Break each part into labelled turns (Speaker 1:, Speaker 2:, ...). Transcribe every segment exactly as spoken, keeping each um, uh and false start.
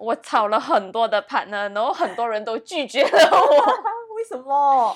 Speaker 1: 我找了很多的 partner， 然后很多人都拒绝了我。
Speaker 2: 为什么？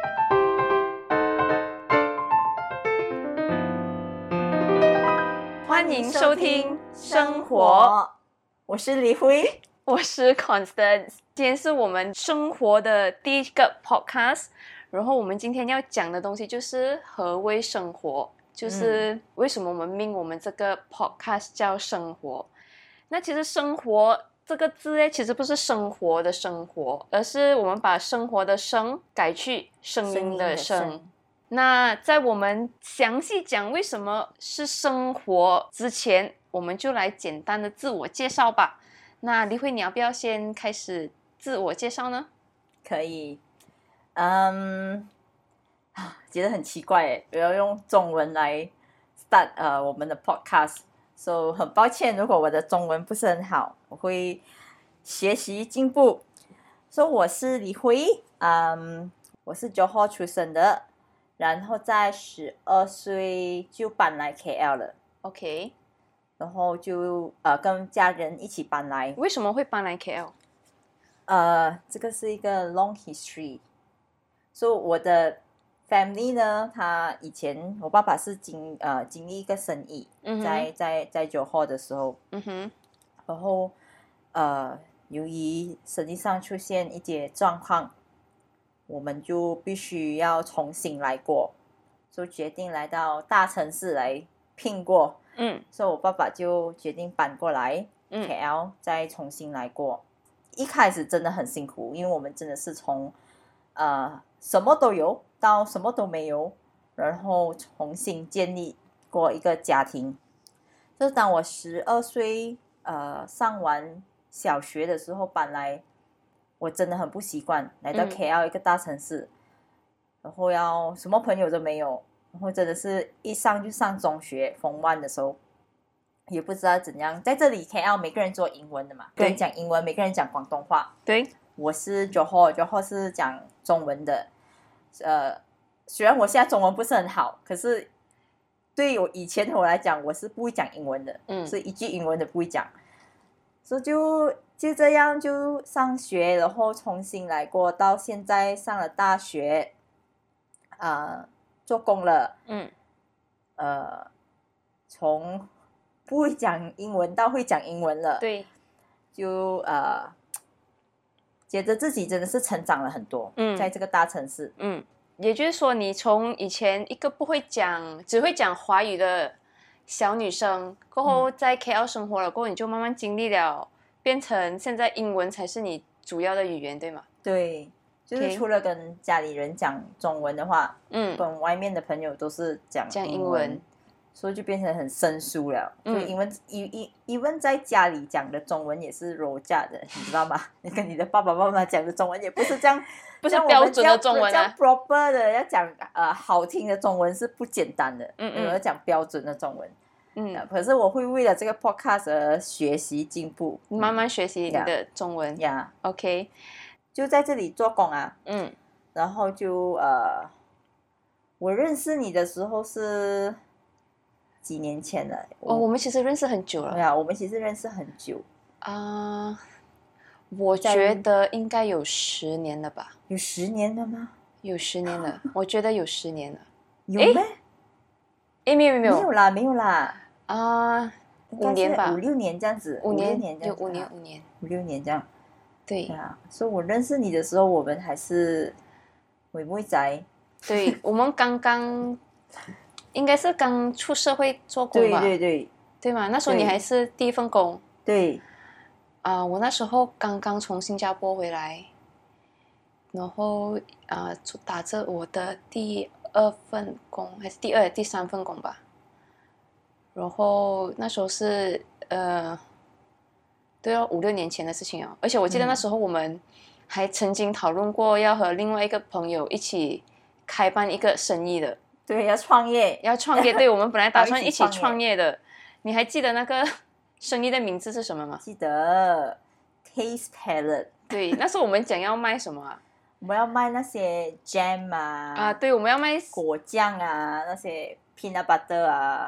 Speaker 1: 欢迎收听生活，
Speaker 2: 我是李辉，
Speaker 1: 我是 Constance。今天是我们生活的第一个 podcast， 然后我们今天要讲的东西就是何谓生活，就是为什么我们命我们这个 podcast 叫生活。那其实生活这个字呢，其实不是生活的生活，而是我们把生活的生改去声音的声。那在我们详细讲为什么是生活之前，我们就来简单的自我介绍吧。那李慧，你要不要先开始自我介绍呢？
Speaker 2: 可以。嗯，觉得很奇怪耶，我要用中文来 start 呃我们的 podcast，so 很抱歉，如果我的中文不是很好，我会学习进步。So 我是李辉，嗯，我是 Johor 出生的。然后在十二岁就搬来 K L 了
Speaker 1: ，OK，
Speaker 2: 然后就呃跟家人一起搬来。
Speaker 1: 为什么会搬来 K L？
Speaker 2: 呃，这个是一个 long history。所以我的 family 呢，他以前我爸爸是经呃经历一个生意，
Speaker 1: 嗯、
Speaker 2: 在在在 Johor 的时候，
Speaker 1: 嗯哼，
Speaker 2: 然后呃由于生意上出现一些状况。我们就必须要重新来过，就决定来到大城市来拼过。
Speaker 1: 嗯，
Speaker 2: 所以我爸爸就决定搬过来 K L，嗯、再重新来过。一开始真的很辛苦，因为我们真的是从呃什么都有到什么都没有，然后重新建立过一个家庭。就是当我十二岁呃上完小学的时候搬来。我真的很不习惯来到 K L 一个大城市，嗯、然后要什么朋友都没有，然后真的是一上就上中学Form One的时候，也不知道怎样。在这里 K L 每个人做英文的嘛，每个人讲英文，每个人讲广东话。
Speaker 1: 对，
Speaker 2: 我是 Johor， Johor 是讲中文的。呃，虽然我现在中文不是很好，可是对我以前的我来讲，我是不会讲英文的，嗯，是一句英文都不会讲，所以就。就这样就上学，然后重新来过，到现在上了大学，呃，做工了，嗯，呃，从不会讲英文到会讲英文了，
Speaker 1: 对，
Speaker 2: 就呃，觉得自己真的是成长了很多，嗯，在这个大城市，
Speaker 1: 嗯，也就是说，你从以前一个不会讲、只会讲华语的小女生，过后在 K L 生活了，过后你就慢慢经历了。变成现在英文才是你主要的语言，对吗？
Speaker 2: 对，就是除了跟家里人讲中文的话，嗯，跟外面的朋友都是讲
Speaker 1: 讲
Speaker 2: 英文，
Speaker 1: 英文
Speaker 2: 所以就变成很生疏了。嗯，就英文一一一问在家里讲的中文也是柔架的，你知道吗？你跟你的爸爸妈妈讲的中文也不是这样，
Speaker 1: 不是标准的中文啊。
Speaker 2: proper 的要讲呃好听的中文是不简单的，嗯嗯，要讲标准的中文。嗯，可是我会为了这个 podcast 而学习进步，
Speaker 1: 慢慢学习你的中文
Speaker 2: 呀。
Speaker 1: Yeah. OK，
Speaker 2: 就在这里做工啊。嗯，然后就呃，我认识你的时候是几年前了。
Speaker 1: 哦，我们其实认识很久了。
Speaker 2: 对啊，我们其实认识很久
Speaker 1: 啊。Uh, 我觉得应该有十年了吧？
Speaker 2: 有十年了吗？
Speaker 1: 有十年了，我觉得有十年了。
Speaker 2: 有咩？
Speaker 1: 哎，没有没有
Speaker 2: 没有啦，没有啦。
Speaker 1: 啊，五年吧，
Speaker 2: 五六年这样子，
Speaker 1: 五年，
Speaker 2: 年
Speaker 1: 有五年，五年，
Speaker 2: 五六年这样。
Speaker 1: 对
Speaker 2: 啊，所以我认识你的时候，我们还是妹妹仔。
Speaker 1: 对，我们刚刚应该是刚出社会做工吧？
Speaker 2: 对对对，
Speaker 1: 对嘛？那时候你还是第一份工。
Speaker 2: 对。
Speaker 1: 啊、呃，我那时候刚刚从新加坡回来，然后啊、呃，打着我的第二份工，还是第二、第三份工吧。然后那时候是呃，都要五六年前的事情哦。而且我记得那时候我们还曾经讨论过要和另外一个朋友一起开办一个生意的。
Speaker 2: 对，要创业，
Speaker 1: 要创业。对，我们本来打算一起创业的。你还记得那个生意的名字是什么吗？
Speaker 2: 记得 ，Taste Palette。
Speaker 1: 对，那时候我们讲要卖什么啊？
Speaker 2: 我们要卖那些 jam 啊。
Speaker 1: 啊，对，我们要卖
Speaker 2: 果酱啊，那些 peanut butter 啊。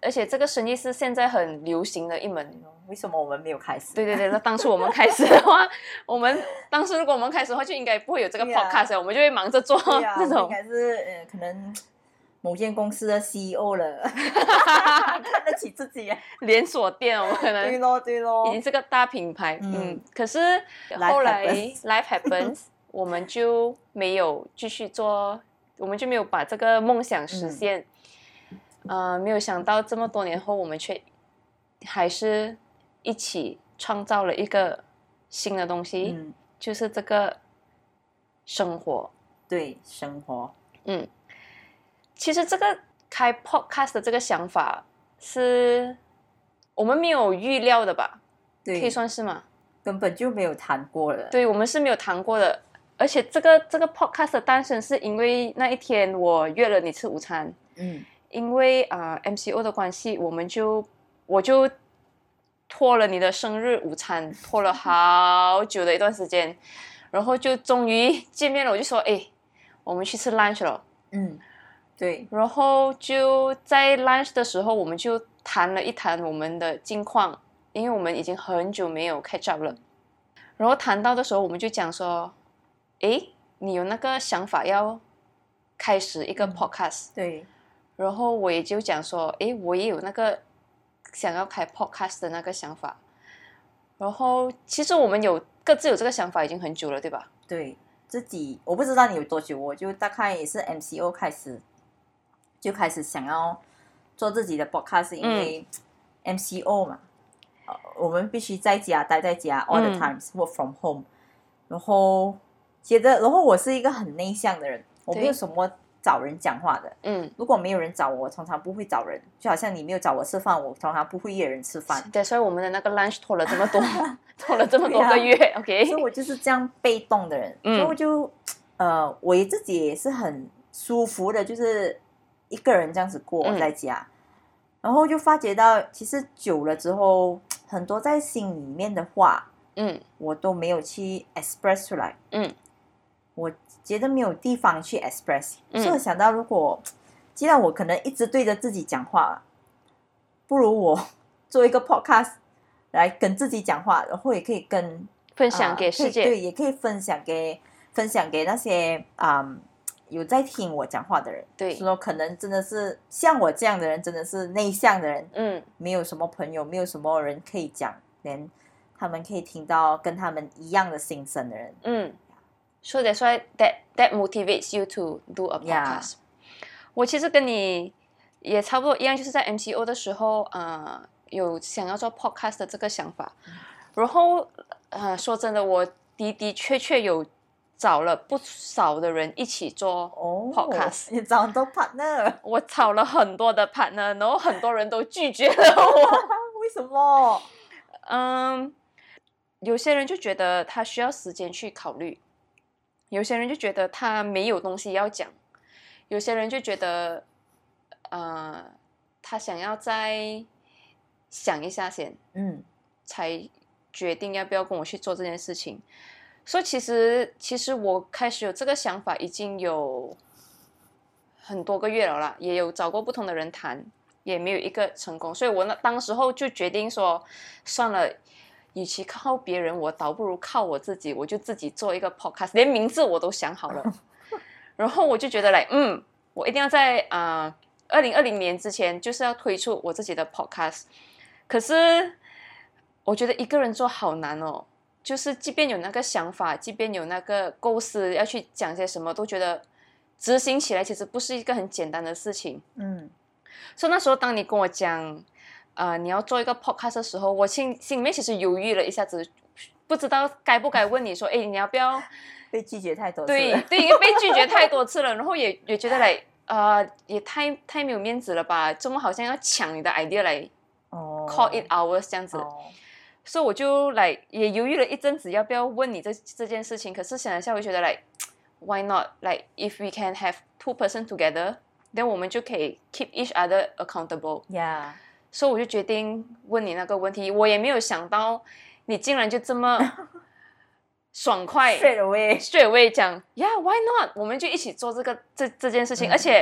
Speaker 1: 而且这个生意是现在很流行的一门。
Speaker 2: 为什么我们没有开始？
Speaker 1: 对对对，那当初我们开始的话，我们当时如果我们开始的话，就应该不会有这个 podcast，、啊、我们就会忙着做这种。
Speaker 2: 应该是呃，可能某间公司的 C E O 了，看得起自己，连
Speaker 1: 锁店，我们可能
Speaker 2: 对咯对咯，
Speaker 1: 已经是个大品牌。嗯，嗯可是后来 Life Happens， 我们就没有继续做，我们就没有把这个梦想实现。嗯、呃，没有想到这么多年后，我们却还是一起创造了一个新的东西，嗯、就是这个生活。
Speaker 2: 对，生活。
Speaker 1: 嗯。其实这个开 podcast 的这个想法是我们没有预料的吧？
Speaker 2: 对，
Speaker 1: 可以算是吗？
Speaker 2: 根本就没有谈过了。
Speaker 1: 对，我们是没有谈过的。而且这个这个 podcast 的诞生是因为那一天我约了你吃午餐。嗯。因为啊、呃、M C O 的关系，我们就我就拖了你的生日午餐，拖了好久的一段时间，然后就终于见面了。我就说，哎，我们去吃 lunch 了。嗯。
Speaker 2: 对，
Speaker 1: 然后就在 lunch 的时候，我们就谈了一谈我们的近况，因为我们已经很久没有 catch up 了。然后谈到的时候，我们就讲说，诶，你有那个想法要开始一个 podcast。
Speaker 2: 嗯、对。
Speaker 1: 然后我也就讲说，诶，我也有那个想要开 podcast 的那个想法。然后其实我们有各自有这个想法已经很久了，对吧？
Speaker 2: 对，自己我不知道你有多久，我就大概也是 M C O 开始。就开始想要做自己的 podcast， 因为 M C O 嘛、嗯呃，我们必须在家待在家 all the times、嗯、work from home， 然后接着，然后我是一个很内向的人，我没有什么找人讲话的。嗯，如果没有人找我，我通常不会找人，就好像你没有找我吃饭，我通常不会约人吃饭。
Speaker 1: 对，所以我们的那个 lunch 拖了这么多，拖了这么多个月。啊、OK，
Speaker 2: 所以我就是这样被动的人，嗯、所以我就呃，我自己也是很舒服的，就是。一个人这样子过在家、嗯、然后就发觉到其实久了之后很多在心里面的话嗯，我都没有去 express 出来嗯，我觉得没有地方去 express、嗯、所以我想到如果既然我可能一直对着自己讲话，不如我做一个 podcast 来跟自己讲话，然后也可以跟
Speaker 1: 分享给世界、
Speaker 2: 呃、对，也可以分享给分享给那些嗯有在听我讲话的人，
Speaker 1: 对，
Speaker 2: 说可能真的是像我这样的人，真的是内向的人，嗯，没有什么朋友，没有什么人可以讲，连他们可以听到跟他们一样的心声的人，
Speaker 1: 嗯 ，So that's why that that motivates you to do a podcast. Yeah. 我其实跟你也差不多一样，就是在 M C O 的时候，呃，有想要做 podcast 的这个想法，嗯、然后呃，说真的，我的的确确有。找了不少的人一起做 podcast，、
Speaker 2: 哦、你找很多 partner，
Speaker 1: 我找了很多的 partner， 然后很多人都拒绝了我。
Speaker 2: 为什么？
Speaker 1: 嗯，有些人就觉得他需要时间去考虑，有些人就觉得他没有东西要讲，有些人就觉得，呃，他想要再想一下先，嗯，才决定要不要跟我去做这件事情。所以其实其实我开始有这个想法已经有很多个月了啦，也有找过不同的人谈，也没有一个成功，所以我那当时候就决定说算了，与其靠别人，我倒不如靠我自己，我就自己做一个 podcast， 连名字我都想好了。然后我就觉得来嗯我一定要在啊二零二零年之前就是要推出我自己的 podcast。 可是我觉得一个人做好难哦，就是即便有那个想法，即便有那个构思要去讲些什么，都觉得执行起来其实不是一个很简单的事情。嗯，所以那时候当你跟我讲呃，你要做一个 podcast 的时候，我心心里面其实犹豫了一下子，不知道该不该问你说，哎，你要不要？
Speaker 2: 被拒绝太多次了。
Speaker 1: 对对，因为被拒绝太多次了，然后也也觉得来呃，也太太没有面子了吧？怎么好像要抢你的 idea 来、oh. call it ours 这样子？ Oh.所以我就来也犹豫了一阵子，要不要问你这这件事情。可是想一下，我觉得来 why not？ Like if we can have two person together， then 我们就可以 keep each other accountable。Yeah。所以我就决定问你那个问题。我也没有想到你竟然就这么爽快
Speaker 2: straight away
Speaker 1: straight away 讲 yeah why not？ 我们就一起做这个这这件事情、嗯。而且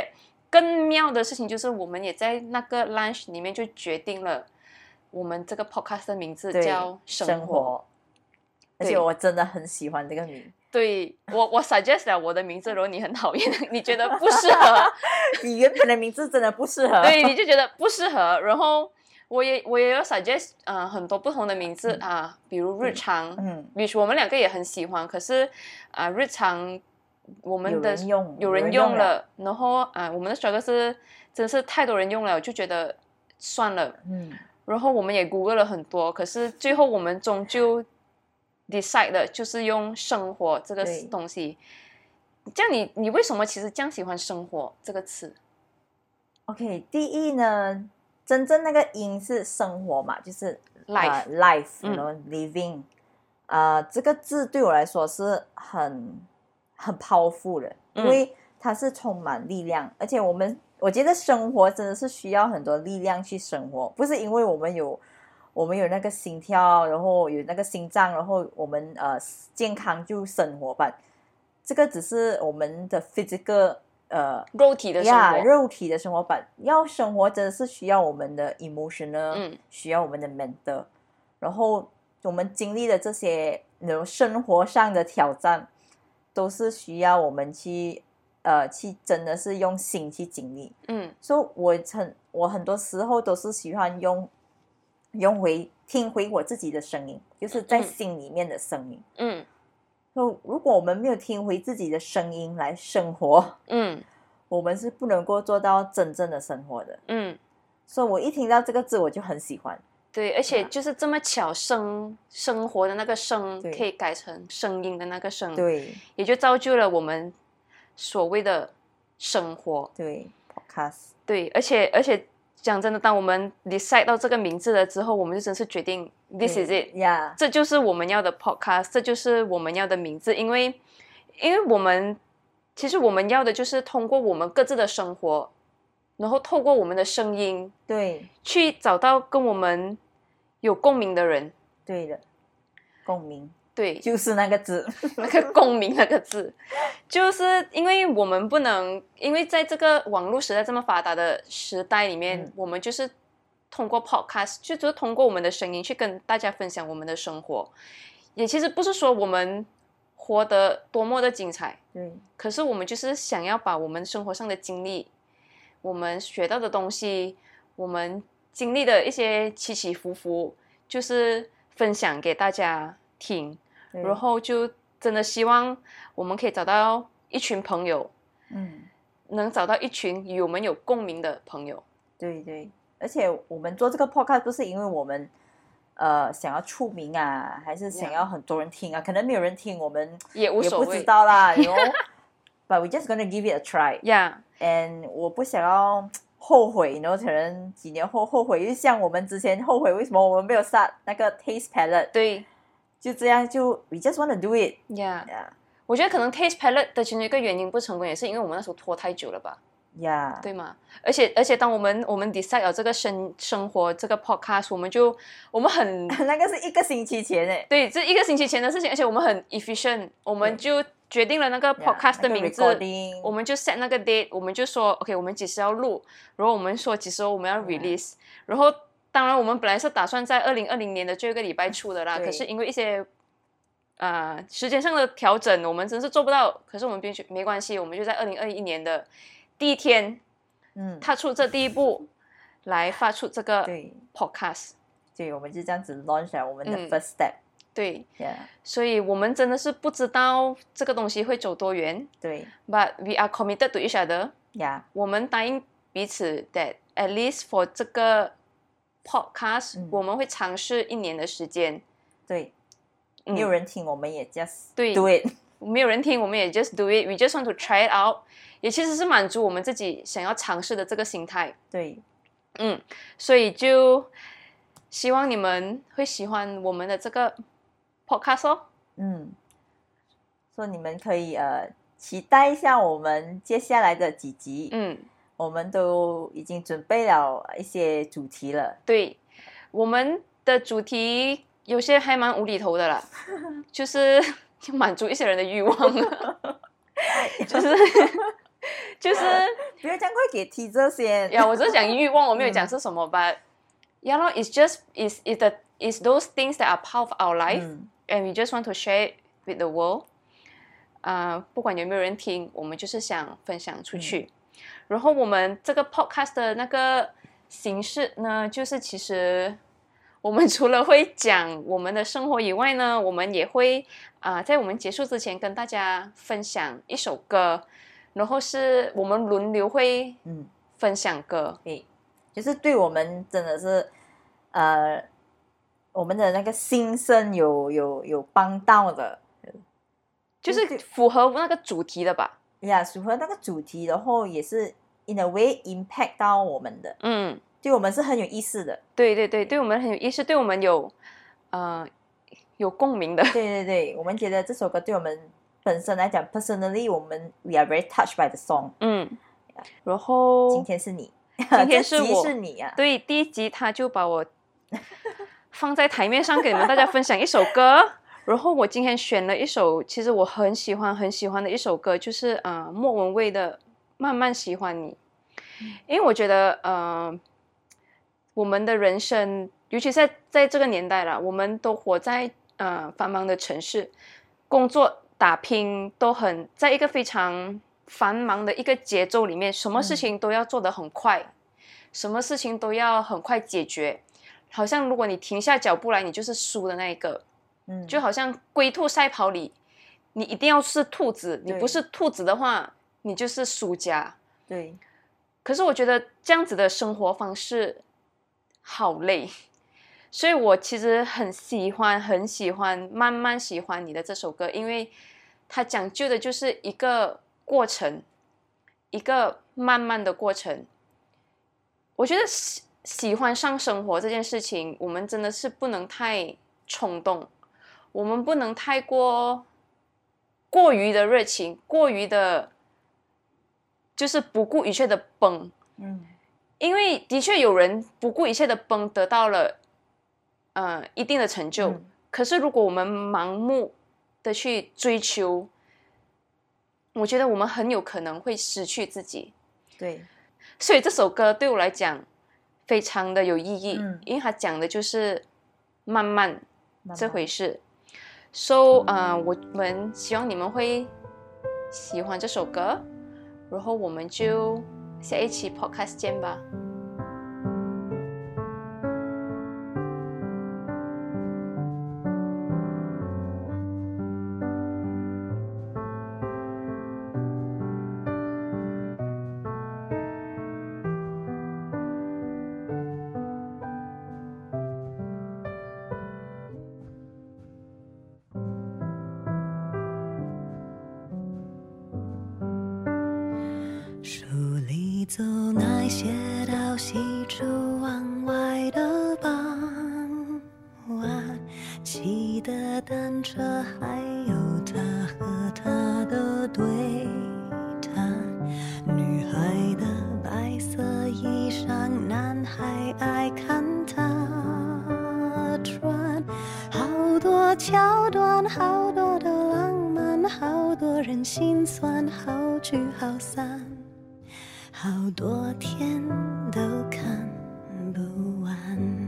Speaker 1: 更妙的事情就是我们也在那个 lunch 里面就决定了我们这个 podcast 的名字叫生活，
Speaker 2: 生活，而且我真的很喜欢这个名。
Speaker 1: 对，我我 suggest 了我的名字，如果你很讨厌，你觉得不适合，
Speaker 2: 你原本的名字真的不适合，
Speaker 1: 对，你就觉得不适合。然后我也我也有 suggest 啊、呃、很多不同的名字、嗯、啊，比如日常，嗯，比如我们两个也很喜欢，可是啊、呃、日常我们的
Speaker 2: 有人用
Speaker 1: 有人用了，然后啊、呃、我们的 struggle 是真是太多人用了，我就觉得算了，嗯，然后我们也 Google 了很多，可是最后我们终究decide 的就是用生活这个东西。这样你你为什么其实这样喜欢生活这个词
Speaker 2: ？OK， 第一呢，真正那个音是生活嘛，就是
Speaker 1: life、
Speaker 2: uh, life， you know、嗯、living， 呃，这个字对我来说是很很 powerful 的，因为它是充满力量，嗯、而且我们我觉得生活真的是需要很多力量去生活，不是因为我们有。我们有那个心跳，然后有那个心脏，然后我们呃健康就生活吧。这个只是我们的 physical 呃
Speaker 1: 肉体的生活，
Speaker 2: yeah, 肉体的生活吧。要生活真的是需要我们的 emotional，、嗯、需要我们的 mental。然后我们经历的这些生活上的挑战，都是需要我们去呃去真的是用心去经历。嗯，所以我很我很多时候都是喜欢用。用回听回我自己的声音，就是在心里面的声音。嗯，所以如果我们没有听回自己的声音来生活，嗯，我们是不能够做到真正的生活的。嗯，所以我一听到这个字，我就很喜欢。
Speaker 1: 对，而且就是这么巧，生生活的那个生可以改成声音的那个声，
Speaker 2: 对，
Speaker 1: 也就造就了我们所谓的生活。
Speaker 2: 对 ，podcast。
Speaker 1: 对，而且而且。讲真的，当我们 decide 到这个名字了之后，我们就真是决定 this is it，
Speaker 2: yeah.
Speaker 1: 这就是我们要的 podcast， 这就是我们要的名字。因为，因为我们其实我们要的就是通过我们各自的生活，然后透过我们的声音，
Speaker 2: 对，
Speaker 1: 去找到跟我们有共鸣的人。
Speaker 2: 对的，共鸣。
Speaker 1: 对，
Speaker 2: 就是那个字，
Speaker 1: 那个共鸣那个字，就是因为我们不能，因为在这个网络时代这么发达的时代里面，嗯、我们就是通过 podcast， 就就是通过我们的声音去跟大家分享我们的生活。也其实不是说我们活得多么的精彩，
Speaker 2: 嗯，
Speaker 1: 可是我们就是想要把我们生活上的经历，我们学到的东西，我们经历的一些起起伏伏，就是分享给大家听。然后就真的希望我们可以找到一群朋友，嗯，能找到一群与我们有共鸣的朋友。
Speaker 2: 对对，而且我们做这个 podcast 不是因为我们呃想要出名啊，还是想要很多人听啊？ Yeah. 可能没有人听，我们
Speaker 1: 也无所谓，
Speaker 2: 也不知道啦。you know? But we just gonna give it a try.
Speaker 1: Yeah.
Speaker 2: And 我不想要后悔，然后可能几年后后悔，就像我们之前后悔为什么我们没有start那个 Taste Palette。
Speaker 1: 对。
Speaker 2: 就这样就 we just want to do it.
Speaker 1: Yeah. Yeah. 我觉得可能 Taste Palette 的其中一个原因不成功，也是因为我们那时候拖太久了吧。
Speaker 2: Yeah.
Speaker 1: 对吗？而且而且当我们我们 decide 了这个生生活这个 podcast， 我们就我们很
Speaker 2: 那个是一个星期前诶。
Speaker 1: 对，这一个星期前的事情，而且我们很 efficient， 我们就决定了那个 podcast 的名字，
Speaker 2: yeah,
Speaker 1: 我们就 set 那个 date， 我们就说 OK， 我们几时要录，然后我们说几时我们要 release， yeah. 然后当然我们本来是打算在二零二零年的最后一个礼拜出的啦，可是因为一些呃时间上的调整，我们真是做不到。可是我们必须没关系，我们就在二零二一年的第一天，嗯，踏出这第一步，来发出这个 podcast。
Speaker 2: 对，我们就这样子 launch 了我们的 first step。嗯、
Speaker 1: 对
Speaker 2: ，yeah.
Speaker 1: 所以我们真的是不知道这个东西会走多远。
Speaker 2: 对
Speaker 1: ，but we are committed to each other。
Speaker 2: Yeah，
Speaker 1: 我们答应彼此 that at least for 这个 podcast，、嗯、我们会尝试一年的时间。
Speaker 2: 对。没有人听，我们也 just
Speaker 1: do
Speaker 2: it。
Speaker 1: 没有人听，我们也 just do it。We just want to try it out。也其实是满足我们自己想要尝试的这个心态。
Speaker 2: 对，
Speaker 1: 嗯，所以就希望你们会喜欢我们的这个 podcast 哦。
Speaker 2: 嗯，所以你们可以呃期待一下我们接下来的几集。嗯，我们都已经准备了一些主题了。
Speaker 1: 对，我们的主题。有些还蛮无厘头的啦，就是满足一些人的欲望，就是就是
Speaker 2: 不要这样快给 teaser 先。
Speaker 1: 呀，我只是讲欲望，我没有讲是什么吧。Yeah, no, it's just is is the is those things that are part of our life,、嗯、and we just want to share it with the world. 啊、uh, ，不管有没有人听，我们就是想分享出去。嗯、然后我们这个 podcast 的那个形式呢，就是其实我们除了会讲我们的生活以外呢，我们也会啊、呃，在我们结束之前跟大家分享一首歌，然后是我们轮流会分享歌。
Speaker 2: 嗯，就是对我们真的是呃，我们的那个心声有有有帮到的。
Speaker 1: 就是符合那个主题的吧？
Speaker 2: 呀，符合那个主题，然后也是 in a way impact 到我们的，嗯，对我们是很有意思的。
Speaker 1: 对对对，对我们很有意思，对我们有呃有共鸣的。
Speaker 2: 对对对，我们觉得这首歌对我们本身来讲 ，personally 我们 we are very touched by the song。嗯，
Speaker 1: 然后
Speaker 2: 今天是你，
Speaker 1: 今天是我，
Speaker 2: 是你啊。
Speaker 1: 对，第一集他就把我放在台面上给你们大家分享一首歌。然后我今天选了一首，其实我很喜欢很喜欢的一首歌，就是呃莫文蔚的《慢慢喜欢你》，因为我觉得呃我们的人生，尤其在在这个年代啦，我们都活在呃繁忙的城市，工作打拼都很在一个非常繁忙的一个节奏里面，什么事情都要做得很快，嗯、什么事情都要很快解决，好像如果你停下脚步来，你就是输的那一个。就好像龟兔赛跑里，你一定要是兔子，你不是兔子的话，你就是输家。
Speaker 2: 对。
Speaker 1: 可是我觉得这样子的生活方式好累，所以我其实很喜欢很喜欢慢慢喜欢你的这首歌，因为它讲究的就是一个过程，一个慢慢的过程。我觉得喜喜欢上生活这件事情，我们真的是不能太冲动。我们不能太过过于的热情，过于的就是不顾一切的奔，嗯，因为的确有人不顾一切的奔得到了呃一定的成就，嗯、可是如果我们盲目的去追求，我觉得我们很有可能会失去自己。
Speaker 2: 对，
Speaker 1: 所以这首歌对我来讲非常的有意义，嗯、因为它讲的就是慢慢，慢慢这回事。So 呃，我们希望你们会喜欢这首歌，然后我们就下一期 podcast 见吧。
Speaker 3: 走那些到西出望外的傍晚，骑的单车，还有他和他的对谈。女孩的白色衣裳，男孩爱看她穿。好多桥段，好多的浪漫，好多人心酸，好聚好散。好多天都看不完。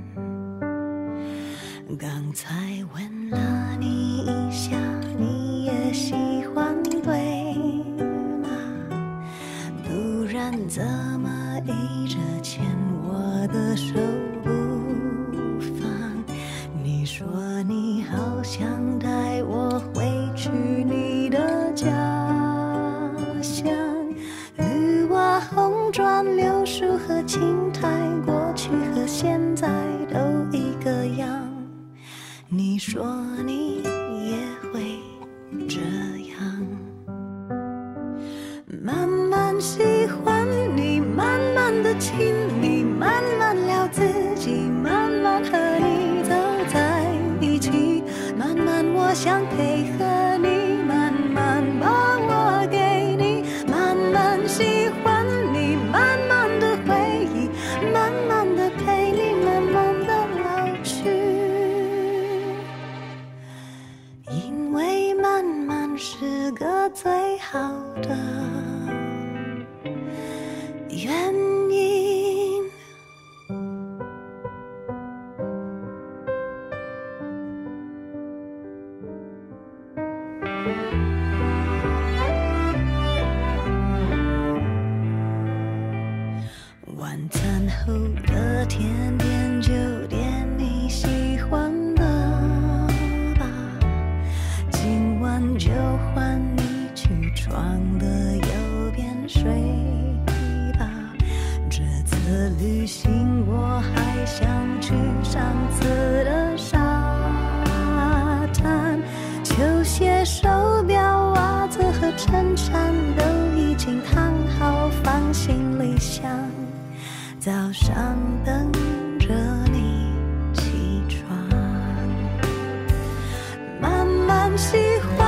Speaker 3: 刚才问了你一下，你也喜欢对吗？不然怎么一直牵我的手不放？你说你好想带我回去你的家乡。红砖柳树和青苔，过去和现在都一个样。你说你也会这样，慢慢喜欢你，慢慢的亲密，慢慢聊自己，慢慢和你走在一起，慢慢我想配合你，慢慢把我给你，慢慢喜欢。慢慢的回忆，慢慢的陪你，慢慢的老去，因为慢慢是个最好的晚餐后的甜点就点你喜欢的吧，今晚就换你起床的右边睡吧。这次旅行我还想去上次的沙滩，球鞋、手表、袜子和衬衫都已经烫好，放行李箱，早上等着你起床。慢慢喜欢